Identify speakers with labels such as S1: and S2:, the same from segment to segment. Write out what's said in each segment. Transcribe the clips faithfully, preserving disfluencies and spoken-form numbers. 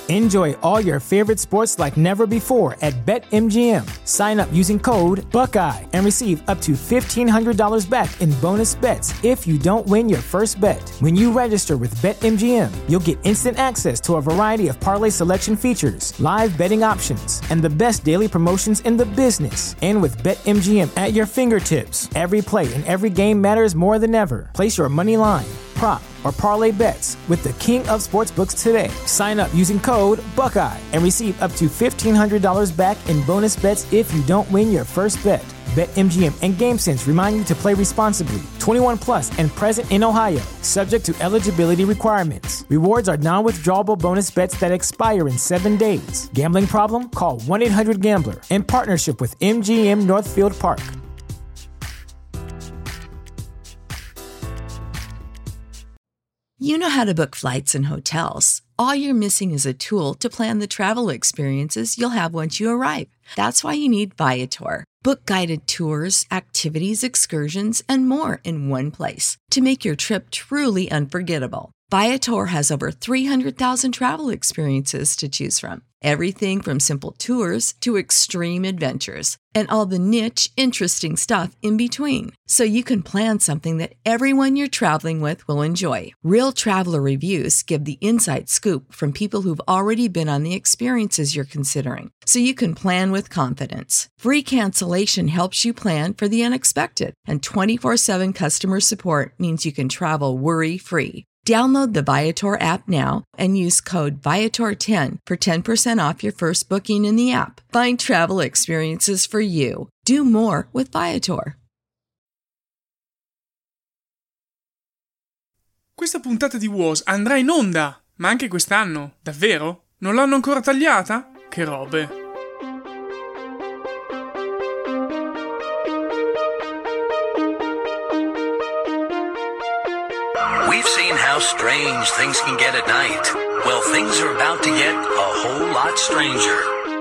S1: Enjoy all your favorite sports like never before at BetMGM. Sign up using code Buckeye and receive up to fifteen hundred dollars back in bonus bets if you don't win your first bet. When you register with BetMGM, you'll get instant access to a variety of parlay selection features, live betting options, and the best daily promotions in the business. And with BetMGM at your fingertips, every play and every game matters more than ever. Place your money line, prop, or parlay bets with the king of sportsbooks today. Sign up using code Buckeye and receive up to fifteen hundred dollars back in bonus bets if you don't win your first bet. BetMGM and GameSense remind you to play responsibly. twenty-one plus and present in Ohio, subject to eligibility requirements. Rewards are non-withdrawable bonus bets that expire in seven days. Gambling problem? Call one eight hundred gambler in partnership with M G M Northfield Park.
S2: You know how to book flights and hotels. All you're missing is a tool to plan the travel experiences you'll have once you arrive. That's why you need Viator. Book guided tours, activities, excursions, and more in one place to make your trip truly unforgettable. Viator has over three hundred thousand travel experiences to choose from. Everything from simple tours to extreme adventures and all the niche, interesting stuff in between. So you can plan something that everyone you're traveling with will enjoy. Real traveler reviews give the inside scoop from people who've already been on the experiences you're considering. So you can plan with confidence. Free cancellation helps you plan for the unexpected. And twenty-four seven customer support means you can travel worry-free. Download the Viator app now and use code Viator ten for ten percent off your first booking in the app. Find travel experiences for you. Do more with Viator.
S3: Questa puntata di W O S andrà in onda, ma anche quest'anno. Davvero? Non l'hanno ancora tagliata? Che robe.
S4: We've seen how strange things can get at night. Well, things are about to get a whole lot stranger.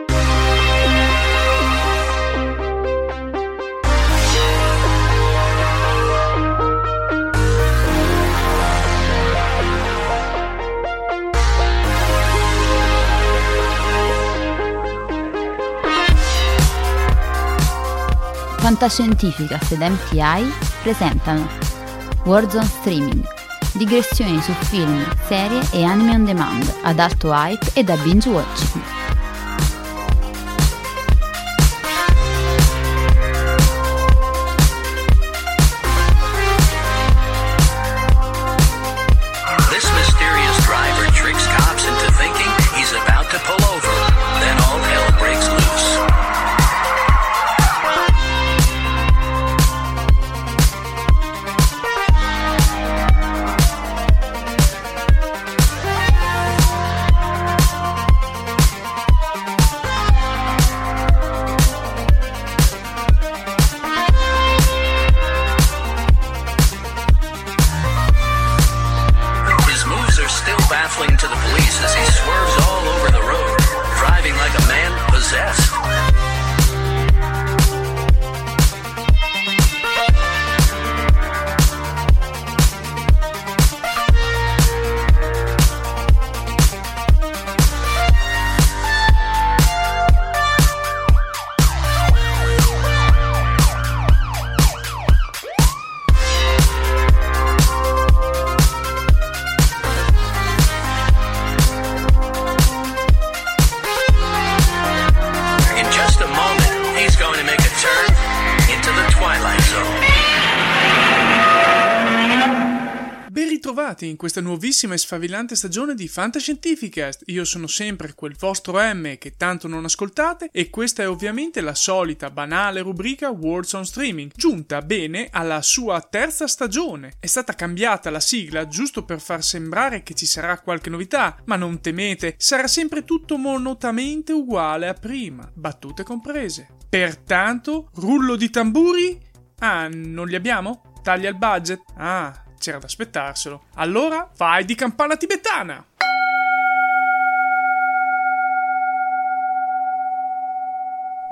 S5: Fantascientificast ed M T I presentano Warzone Streaming, digressioni su film, serie e anime on demand ad alto hype e da binge watching.
S4: This mysterious driver tricks cops into thinking he's about to pull over. Then all hell breaks loose. To the police as he swerves all over the road, driving like a man possessed.
S3: In questa nuovissima e sfavillante stagione di Fantascientificast. Io sono sempre quel vostro M che tanto non ascoltate e questa è ovviamente la solita banale rubrica Warzone Streaming, giunta bene alla sua terza stagione. È stata cambiata la sigla giusto per far sembrare che ci sarà qualche novità, ma non temete, sarà sempre tutto monotamente uguale a prima, battute comprese. Pertanto, rullo di tamburi? Ah, non li abbiamo? Taglia il budget? Ah, c'era da aspettarselo. Allora, vai di campana tibetana!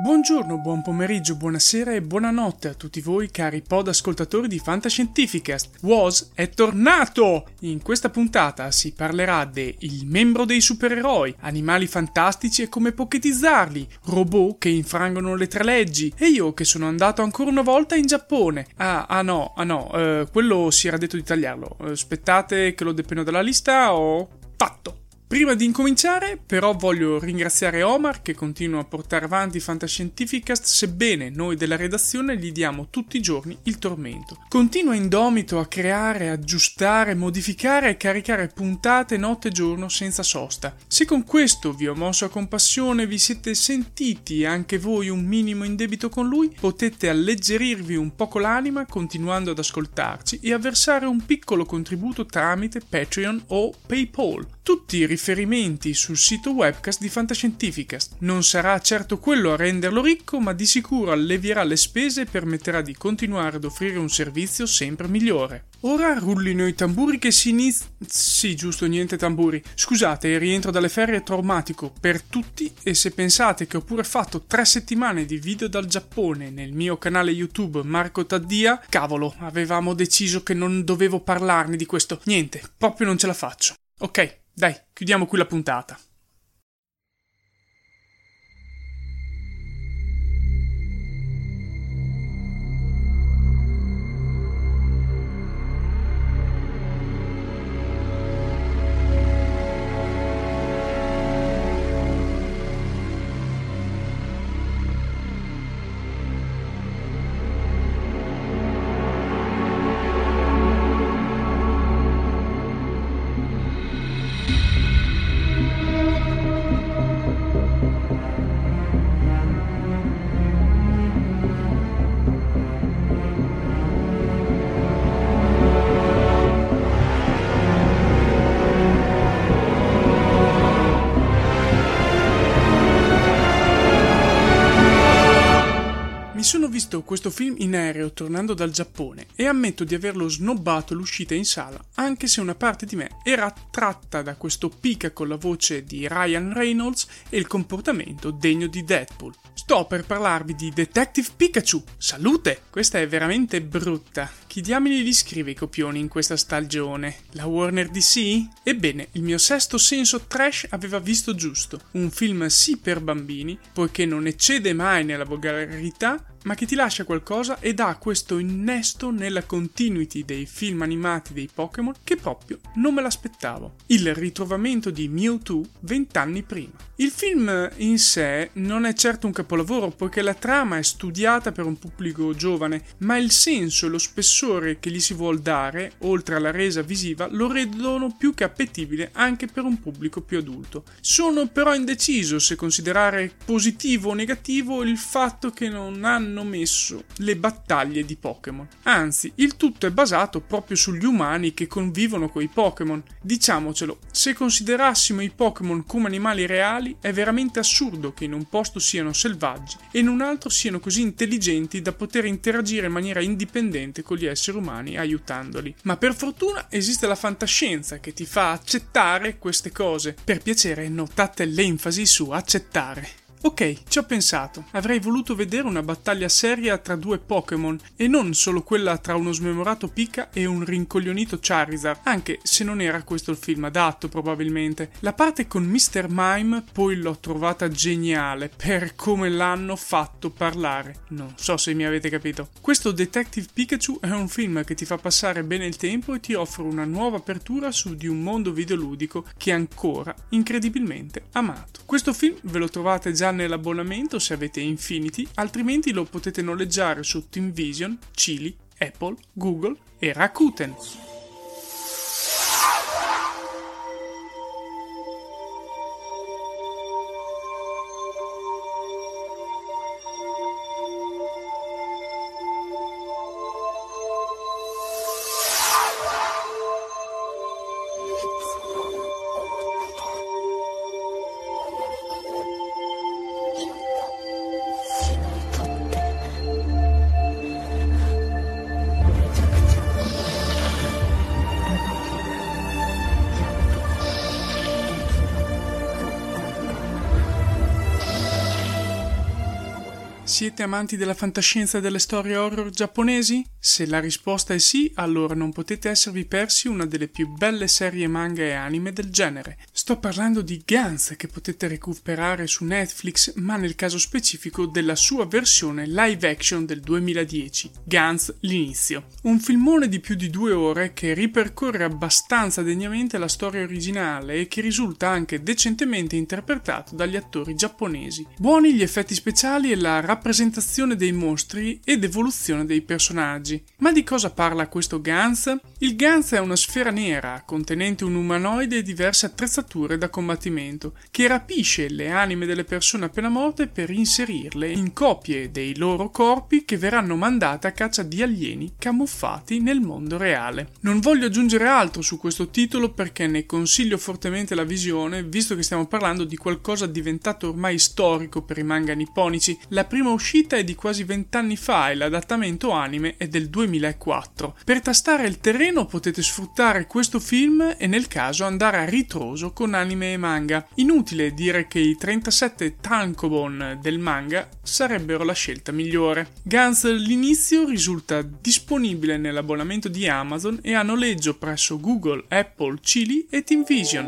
S3: Buongiorno, buon pomeriggio, buonasera e buonanotte a tutti voi cari pod ascoltatori di Fantascientificast. Woz è tornato! In questa puntata si parlerà de il membro dei supereroi, animali fantastici e come poketizzarli, robot che infrangono le tre leggi e io che sono andato ancora una volta in Giappone. Ah, ah no, ah no, eh, quello si era detto di tagliarlo. Aspettate che lo depeno dalla lista, ho fatto! Prima di incominciare, però, voglio ringraziare Omar che continua a portare avanti Fantascientificast, sebbene noi della redazione gli diamo tutti i giorni il tormento. Continua indomito a creare, aggiustare, modificare e caricare puntate notte e giorno senza sosta. Se con questo vi ho mosso a compassione, vi siete sentiti anche voi un minimo in debito con lui, potete alleggerirvi un poco l'anima continuando ad ascoltarci e a versare un piccolo contributo tramite Patreon o PayPal. Tutti i riferimenti sul sito webcast di Fantascientificast. Non sarà certo quello a renderlo ricco, ma di sicuro allevierà le spese e permetterà di continuare ad offrire un servizio sempre migliore. Ora rullino i tamburi che si inizia... Sì, giusto, niente tamburi. Scusate, il rientro dalle ferie è traumatico per tutti e se pensate che ho pure fatto tre settimane di video dal Giappone nel mio canale YouTube Marco Taddia, cavolo, avevamo deciso che non dovevo parlarne di questo. Niente, proprio non ce la faccio. Ok. Dai, chiudiamo qui la puntata. Sono visto questo film in aereo tornando dal Giappone e ammetto di averlo snobbato l'uscita in sala, anche se una parte di me era attratta da questo Pika con la voce di Ryan Reynolds e il comportamento degno di Deadpool. Sto per parlarvi di Detective Pikachu. Salute! Questa è veramente brutta. Chi diamine li scrive i copioni in questa stagione? La Warner D C? Ebbene, il mio sesto senso trash aveva visto giusto. Un film sì per bambini, poiché non eccede mai nella volgarità, ma che ti lascia qualcosa e dà questo innesto nella continuity dei film animati dei Pokémon che proprio non me l'aspettavo. Il ritrovamento di Mewtwo vent'anni prima. Il film in sé non è certo un capolavoro poiché la trama è studiata per un pubblico giovane, ma il senso e lo spessore che gli si vuol dare, oltre alla resa visiva, lo rendono più che appetibile anche per un pubblico più adulto. Sono però indeciso se considerare positivo o negativo il fatto che non hanno messo le battaglie di Pokémon. Anzi, il tutto è basato proprio sugli umani che convivono con i Pokémon. Diciamocelo, se considerassimo i Pokémon come animali reali, è veramente assurdo che in un posto siano selvaggi e in un altro siano così intelligenti da poter interagire in maniera indipendente con gli esseri umani aiutandoli. Ma per fortuna esiste la fantascienza che ti fa accettare queste cose. Per piacere, notate l'enfasi su accettare. Ok, ci ho pensato. Avrei voluto vedere una battaglia seria tra due Pokémon e non solo quella tra uno smemorato Pika e un rincoglionito Charizard, anche se non era questo il film adatto probabilmente. La parte con mister Mime poi l'ho trovata geniale per come l'hanno fatto parlare. Non so se mi avete capito. Questo Detective Pikachu è un film che ti fa passare bene il tempo e ti offre una nuova apertura su di un mondo videoludico che è ancora incredibilmente amato. Questo film ve lo trovate già nell'abbonamento se avete Infinity, altrimenti lo potete noleggiare su TeamVision, Chili, Apple, Google e Rakuten. Siete amanti della fantascienza e delle storie horror giapponesi? Se la risposta è sì, allora non potete esservi persi una delle più belle serie manga e anime del genere. Sto parlando di Gantz, che potete recuperare su Netflix, ma nel caso specifico della sua versione live action del duemiladieci, Gantz l'inizio. Un filmone di più di due ore che ripercorre abbastanza degnamente la storia originale e che risulta anche decentemente interpretato dagli attori giapponesi. Buoni gli effetti speciali e la rappresentazione dei mostri ed evoluzione dei personaggi. Ma di cosa parla questo Gantz? Il Gantz è una sfera nera contenente un umanoide e diverse attrezzature da combattimento che rapisce le anime delle persone appena morte per inserirle in copie dei loro corpi che verranno mandate a caccia di alieni camuffati nel mondo reale. Non voglio aggiungere altro su questo titolo perché ne consiglio fortemente la visione, visto che stiamo parlando di qualcosa diventato ormai storico per i manga nipponici. La prima uscita è di quasi vent'anni fa e l'adattamento anime è del duemilaquattro. Per tastare il terreno potete sfruttare questo film e nel caso andare a ritroso con anime e manga. Inutile dire che i trentasette tankobon del manga sarebbero la scelta migliore. Gantz l'inizio risulta disponibile nell'abbonamento di Amazon e a noleggio presso Google, Apple, Chili e Team Vision.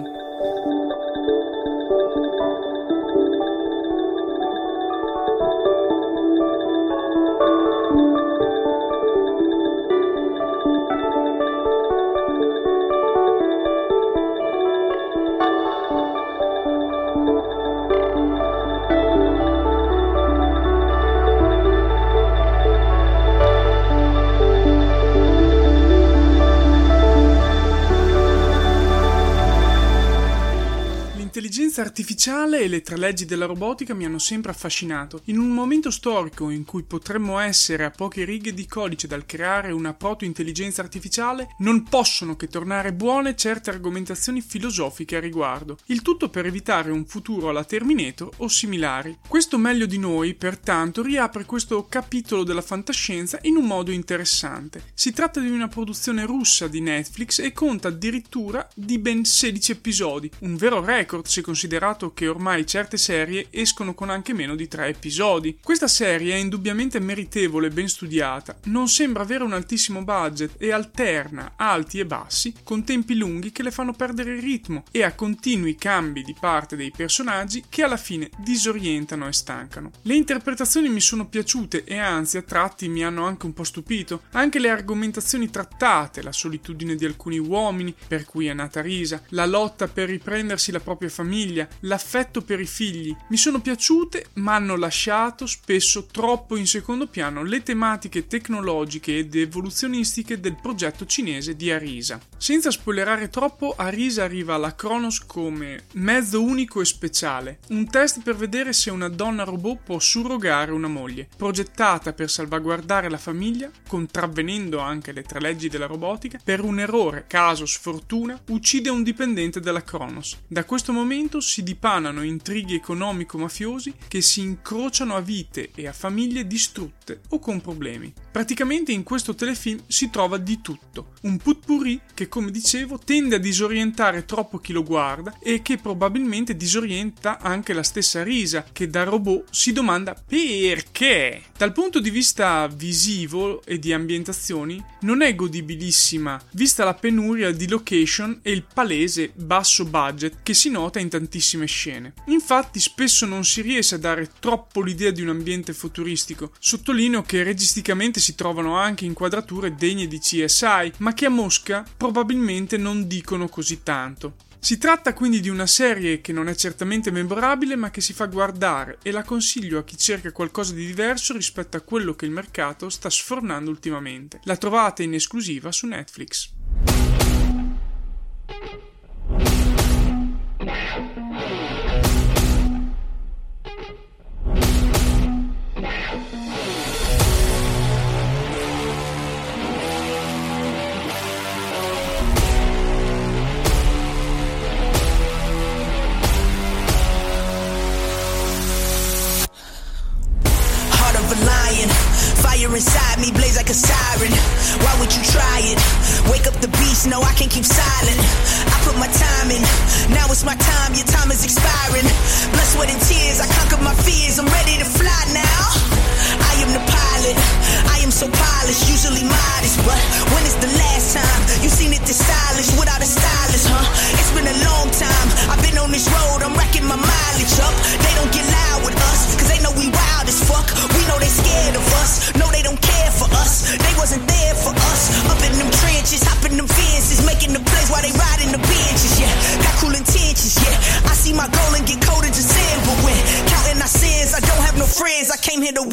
S3: L'intelligenza artificiale e le tre leggi della robotica mi hanno sempre affascinato. In un momento storico in cui potremmo essere a poche righe di codice dal creare una proto-intelligenza artificiale, non possono che tornare buone certe argomentazioni filosofiche a riguardo. Il tutto per evitare un futuro alla Terminator o similari. Questo Meglio di Noi, pertanto, riapre questo capitolo della fantascienza in un modo interessante. Si tratta di una produzione russa di Netflix e conta addirittura di ben sedici episodi, un vero record se considerato che ormai certe serie escono con anche meno di tre episodi. Questa serie è indubbiamente meritevole e ben studiata, non sembra avere un altissimo budget e alterna alti e bassi con tempi lunghi che le fanno perdere il ritmo e a continui cambi di parte dei personaggi che alla fine disorientano e stancano. Le interpretazioni mi sono piaciute e anzi a tratti mi hanno anche un po' stupito, anche le argomentazioni trattate, la solitudine di alcuni uomini per cui è nata Risa, la lotta per riprendersi la propria famiglia, l'affetto per i figli, mi sono piaciute ma hanno lasciato spesso troppo in secondo piano le tematiche tecnologiche ed evoluzionistiche del progetto cinese di Arisa. Senza spoilerare troppo, Arisa arriva alla Kronos come mezzo unico e speciale, un test per vedere se una donna robot può surrogare una moglie, progettata per salvaguardare la famiglia, contravvenendo anche le tre leggi della robotica. Per un errore, caso, sfortuna, uccide un dipendente della Kronos. Da questo momento si dipanano intrighi economico-mafiosi che si incrociano a vite e a famiglie distrutte o con problemi. Praticamente in questo telefilm si trova di tutto, un potpourri che, come dicevo, tende a disorientare troppo chi lo guarda e che probabilmente disorienta anche la stessa Risa, che da robot si domanda perché. Dal punto di vista visivo e di ambientazioni non è godibilissima, vista la penuria di location e il palese basso budget che si nota in tantissime scene. Infatti spesso non si riesce a dare troppo l'idea di un ambiente futuristico. Sottolineo che registicamente si trovano anche inquadrature degne di C S I, ma che a Mosca probabilmente non dicono così tanto. Si tratta quindi di una serie che non è certamente memorabile ma che si fa guardare e la consiglio a chi cerca qualcosa di diverso rispetto a quello che il mercato sta sfornando ultimamente. La trovate in esclusiva su Netflix.
S6: Inside me blaze like a siren. Why would you try it? Wake up the beast, no I can't keep silent. I put my time in, now it's my time, your time is expiring. Blood, sweat and tears, I conquered my fears, I'm ready to fly now.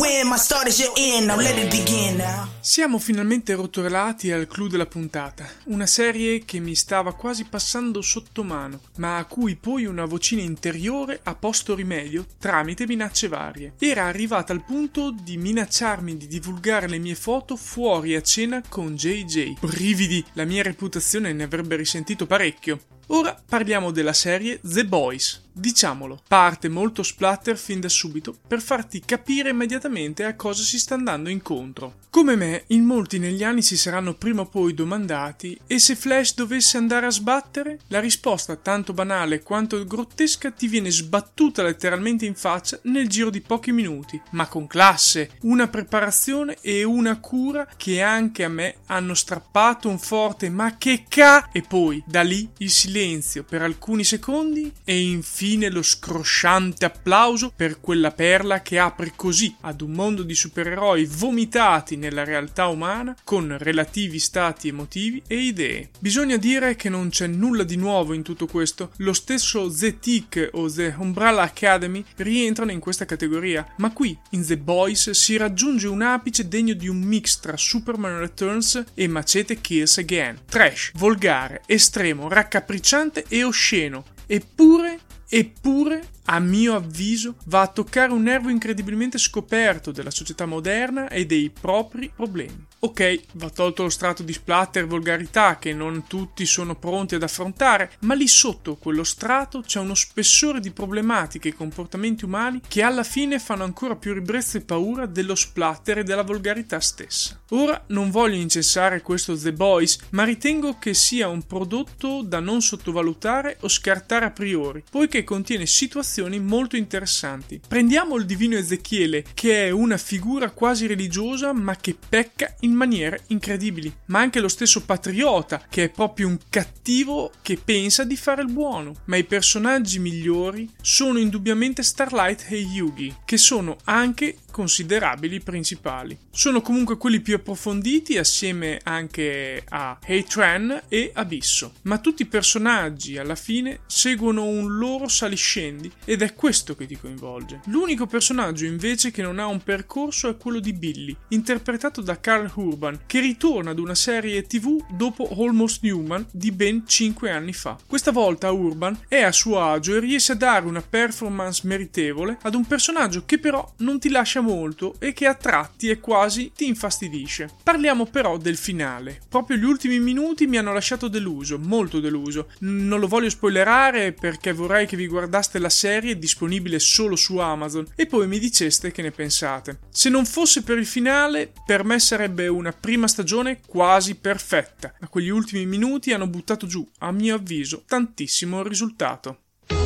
S6: win. My start is your end. Now let it begin now.
S3: Siamo finalmente rotolati al clou della puntata, una serie che mi stava quasi passando sotto mano, ma a cui poi una vocina interiore ha posto rimedio tramite minacce varie. Era arrivata al punto di minacciarmi di divulgare le mie foto fuori a cena con J J. Brividi, la mia reputazione ne avrebbe risentito parecchio. Ora parliamo della serie The Boys. Diciamolo, parte molto splatter fin da subito per farti capire immediatamente a cosa si sta andando incontro. Come me, in molti negli anni si saranno prima o poi domandati: e se Flash dovesse andare a sbattere? La risposta, tanto banale quanto grottesca, ti viene sbattuta letteralmente in faccia nel giro di pochi minuti, ma con classe, una preparazione e una cura che anche a me hanno strappato un forte "ma che ca", e poi da lì il silenzio per alcuni secondi e infine Infine lo scrosciante applauso per quella perla che apre così ad un mondo di supereroi vomitati nella realtà umana con relativi stati emotivi e idee. Bisogna dire che non c'è nulla di nuovo in tutto questo. Lo stesso The Tick o The Umbrella Academy rientrano in questa categoria, ma qui in The Boys si raggiunge un apice degno di un mix tra Superman Returns e Machete Kills Again. Trash, volgare, estremo, raccapricciante e osceno. Eppure Eppure, a mio avviso, va a toccare un nervo incredibilmente scoperto della società moderna e dei propri problemi. Ok, va tolto lo strato di splatter e volgarità che non tutti sono pronti ad affrontare, ma lì sotto quello strato c'è uno spessore di problematiche e comportamenti umani che alla fine fanno ancora più ribrezzo e paura dello splatter e della volgarità stessa. Ora non voglio incensare questo The Boys, ma ritengo che sia un prodotto da non sottovalutare o scartare a priori, poiché contiene situazioni molto interessanti. Prendiamo il divino Ezechiele, che è una figura quasi religiosa ma che pecca in maniere incredibili, ma anche lo stesso Patriota, che è proprio un cattivo che pensa di fare il buono. Ma i personaggi migliori sono indubbiamente Starlight e Yugi, che sono anche considerabili principali. Sono comunque quelli più approfonditi, assieme anche a Heitran e Abisso, ma tutti i personaggi alla fine seguono un loro saliscendi ed è questo che ti coinvolge. L'unico personaggio invece che non ha un percorso è quello di Billy, interpretato da Karl Urban, che ritorna ad una serie tv dopo Almost Human di ben cinque anni fa. Questa volta Urban è a suo agio e riesce a dare una performance meritevole ad un personaggio che però non ti lascia molto e che a tratti e quasi ti infastidisce. Parliamo però del finale. Proprio gli ultimi minuti mi hanno lasciato deluso, molto deluso. Non lo voglio spoilerare perché vorrei che vi guardaste la serie disponibile solo su Amazon e poi mi diceste che ne pensate. Se non fosse per il finale, per me sarebbe una prima stagione quasi perfetta, ma quegli ultimi minuti hanno buttato giù, a mio avviso, tantissimo il risultato.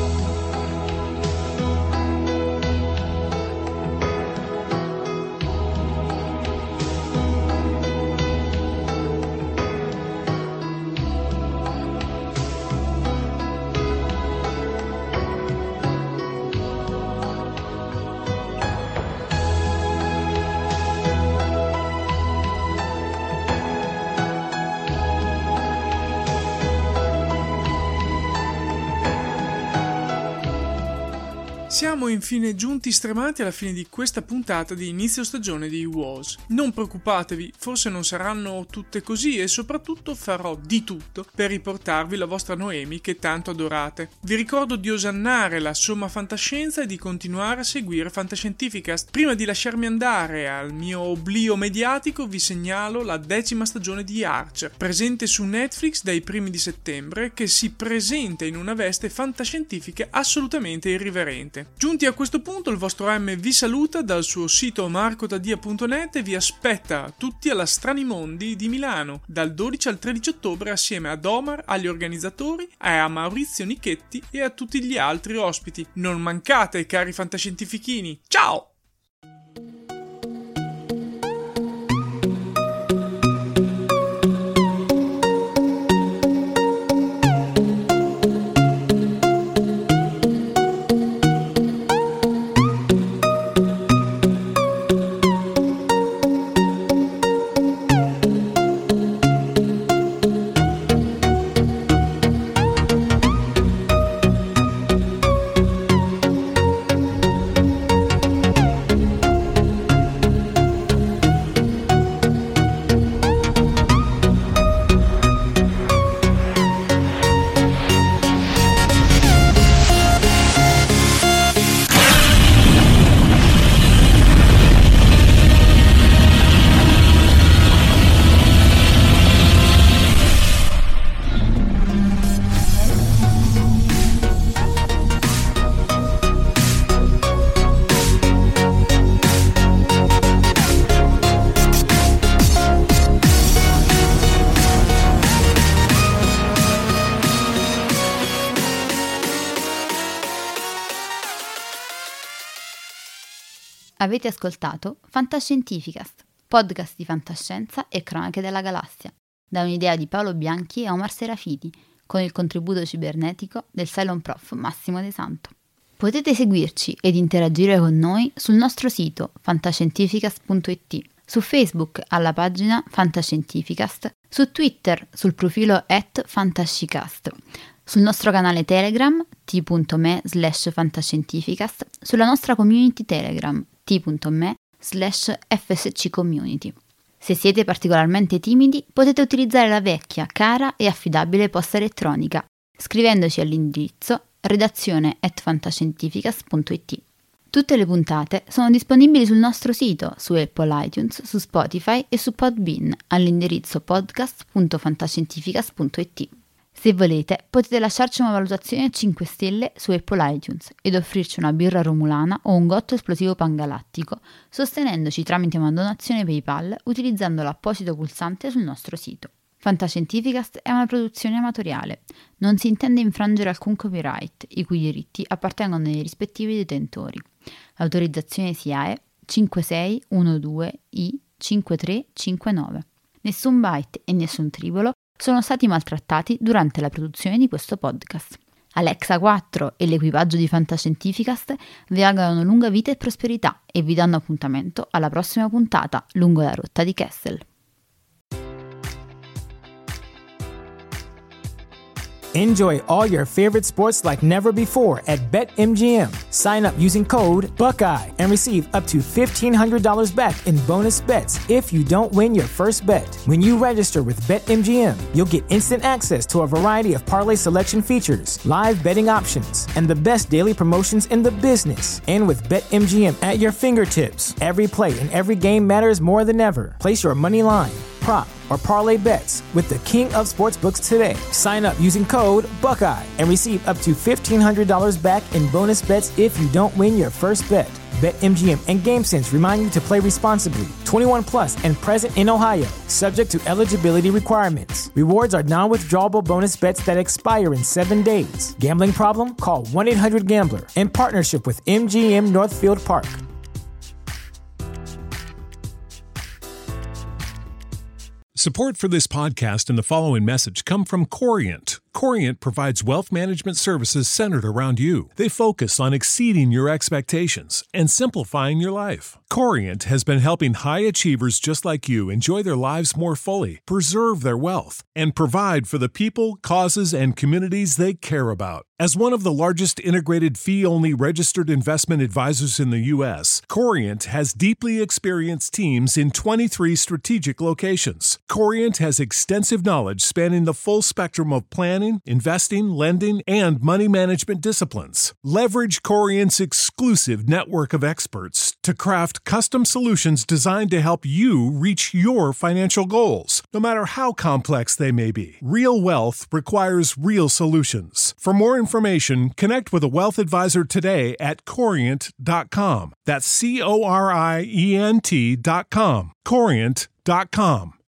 S3: Siamo infine giunti stremati alla fine di questa puntata di inizio stagione di W O S. Non preoccupatevi, forse non saranno tutte così e soprattutto farò di tutto per riportarvi la vostra Noemi che tanto adorate. Vi ricordo di osannare la somma fantascienza e di continuare a seguire Fantascientificast. Prima di lasciarmi andare al mio oblio mediatico vi segnalo la decima stagione di Archer, presente su Netflix dai primi di settembre, che si presenta in una veste fantascientifica assolutamente irriverente. Giunti a questo punto il vostro M vi saluta dal suo sito marcotadia punto net e vi aspetta tutti alla Stranimondi di Milano dal dodici al tredici ottobre assieme ad Omar, agli organizzatori, a Maurizio Nichetti e a tutti gli altri ospiti. Non mancate, cari fantascientifichini! Ciao!
S5: Avete ascoltato Fantascientificast, podcast di fantascienza e cronache della galassia, da un'idea di Paolo Bianchi e Omar Serafiti, con il contributo cibernetico del Cylon Prof Massimo De Santo. Potete seguirci ed interagire con noi sul nostro sito fantascientificast punto it, su Facebook alla pagina Fantascientificast, su Twitter sul profilo at fantascicast, sul nostro canale Telegram t.me slash fantascientificast, sulla nostra community Telegram t.me slash fsccommunity. Se siete particolarmente timidi, potete utilizzare la vecchia, cara e affidabile posta elettronica, scrivendoci all'indirizzo redazione at fantascientificast punto it. Tutte le puntate sono disponibili sul nostro sito, su Apple iTunes, su Spotify e su Podbean, all'indirizzo podcast punto fantascientificast punto it. Se volete, potete lasciarci una valutazione a cinque stelle su Apple iTunes ed offrirci una birra romulana o un gotto esplosivo pangalattico, sostenendoci tramite una donazione PayPal utilizzando l'apposito pulsante sul nostro sito. Fantascientificast è una produzione amatoriale. Non si intende infrangere alcun copyright, i cui diritti appartengono ai rispettivi detentori. L'autorizzazione S I A E cinque sei uno due I cinque tre cinque nove. Nessun byte e nessun tribolo sono stati maltrattati durante la produzione di questo podcast. Alexa quattro e l'equipaggio di Fantascientificast vi augurano lunga vita e prosperità e vi danno appuntamento alla prossima puntata lungo la rotta di Kessel.
S1: Enjoy all your favorite sports like never before at BetMGM. Sign up using code Buckeye and receive up to fifteen hundred dollars back in bonus bets if you don't win your first bet. When you register with BetMGM, you'll get instant access to a variety of parlay selection features, live betting options, and the best daily promotions in the business. And with BetMGM at your fingertips, every play and every game matters more than ever. Place your money line, prop, or parlay bets with the king of sportsbooks today. Sign up using code Buckeye and receive up to fifteen hundred dollars back in bonus bets if you don't win your first bet. BetMGM and GameSense remind you to play responsibly. twenty-one plus and present in Ohio, subject to eligibility requirements. Rewards are non-withdrawable bonus bets that expire in seven days. Gambling problem? Call one eight hundred gambler in partnership with M G M Northfield Park.
S7: Support for this podcast and the following message come from Corient. Corient provides wealth management services centered around you. They focus on exceeding your expectations and simplifying your life. Corient has been helping high achievers just like you enjoy their lives more fully, preserve their wealth, and provide for the people, causes, and communities they care about. As one of the largest integrated fee-only registered investment advisors in the U S, Corient has deeply experienced teams in twenty-three strategic locations. Corient has extensive knowledge spanning the full spectrum of planning, investing, lending, and money management disciplines. Leverage Corient's exclusive network of experts to craft custom solutions designed to help you reach your financial goals, no matter how complex they may be. Real wealth requires real solutions. For more information, connect with a wealth advisor today at corient dot com. That's C O R I E N T dot com. corient dot com.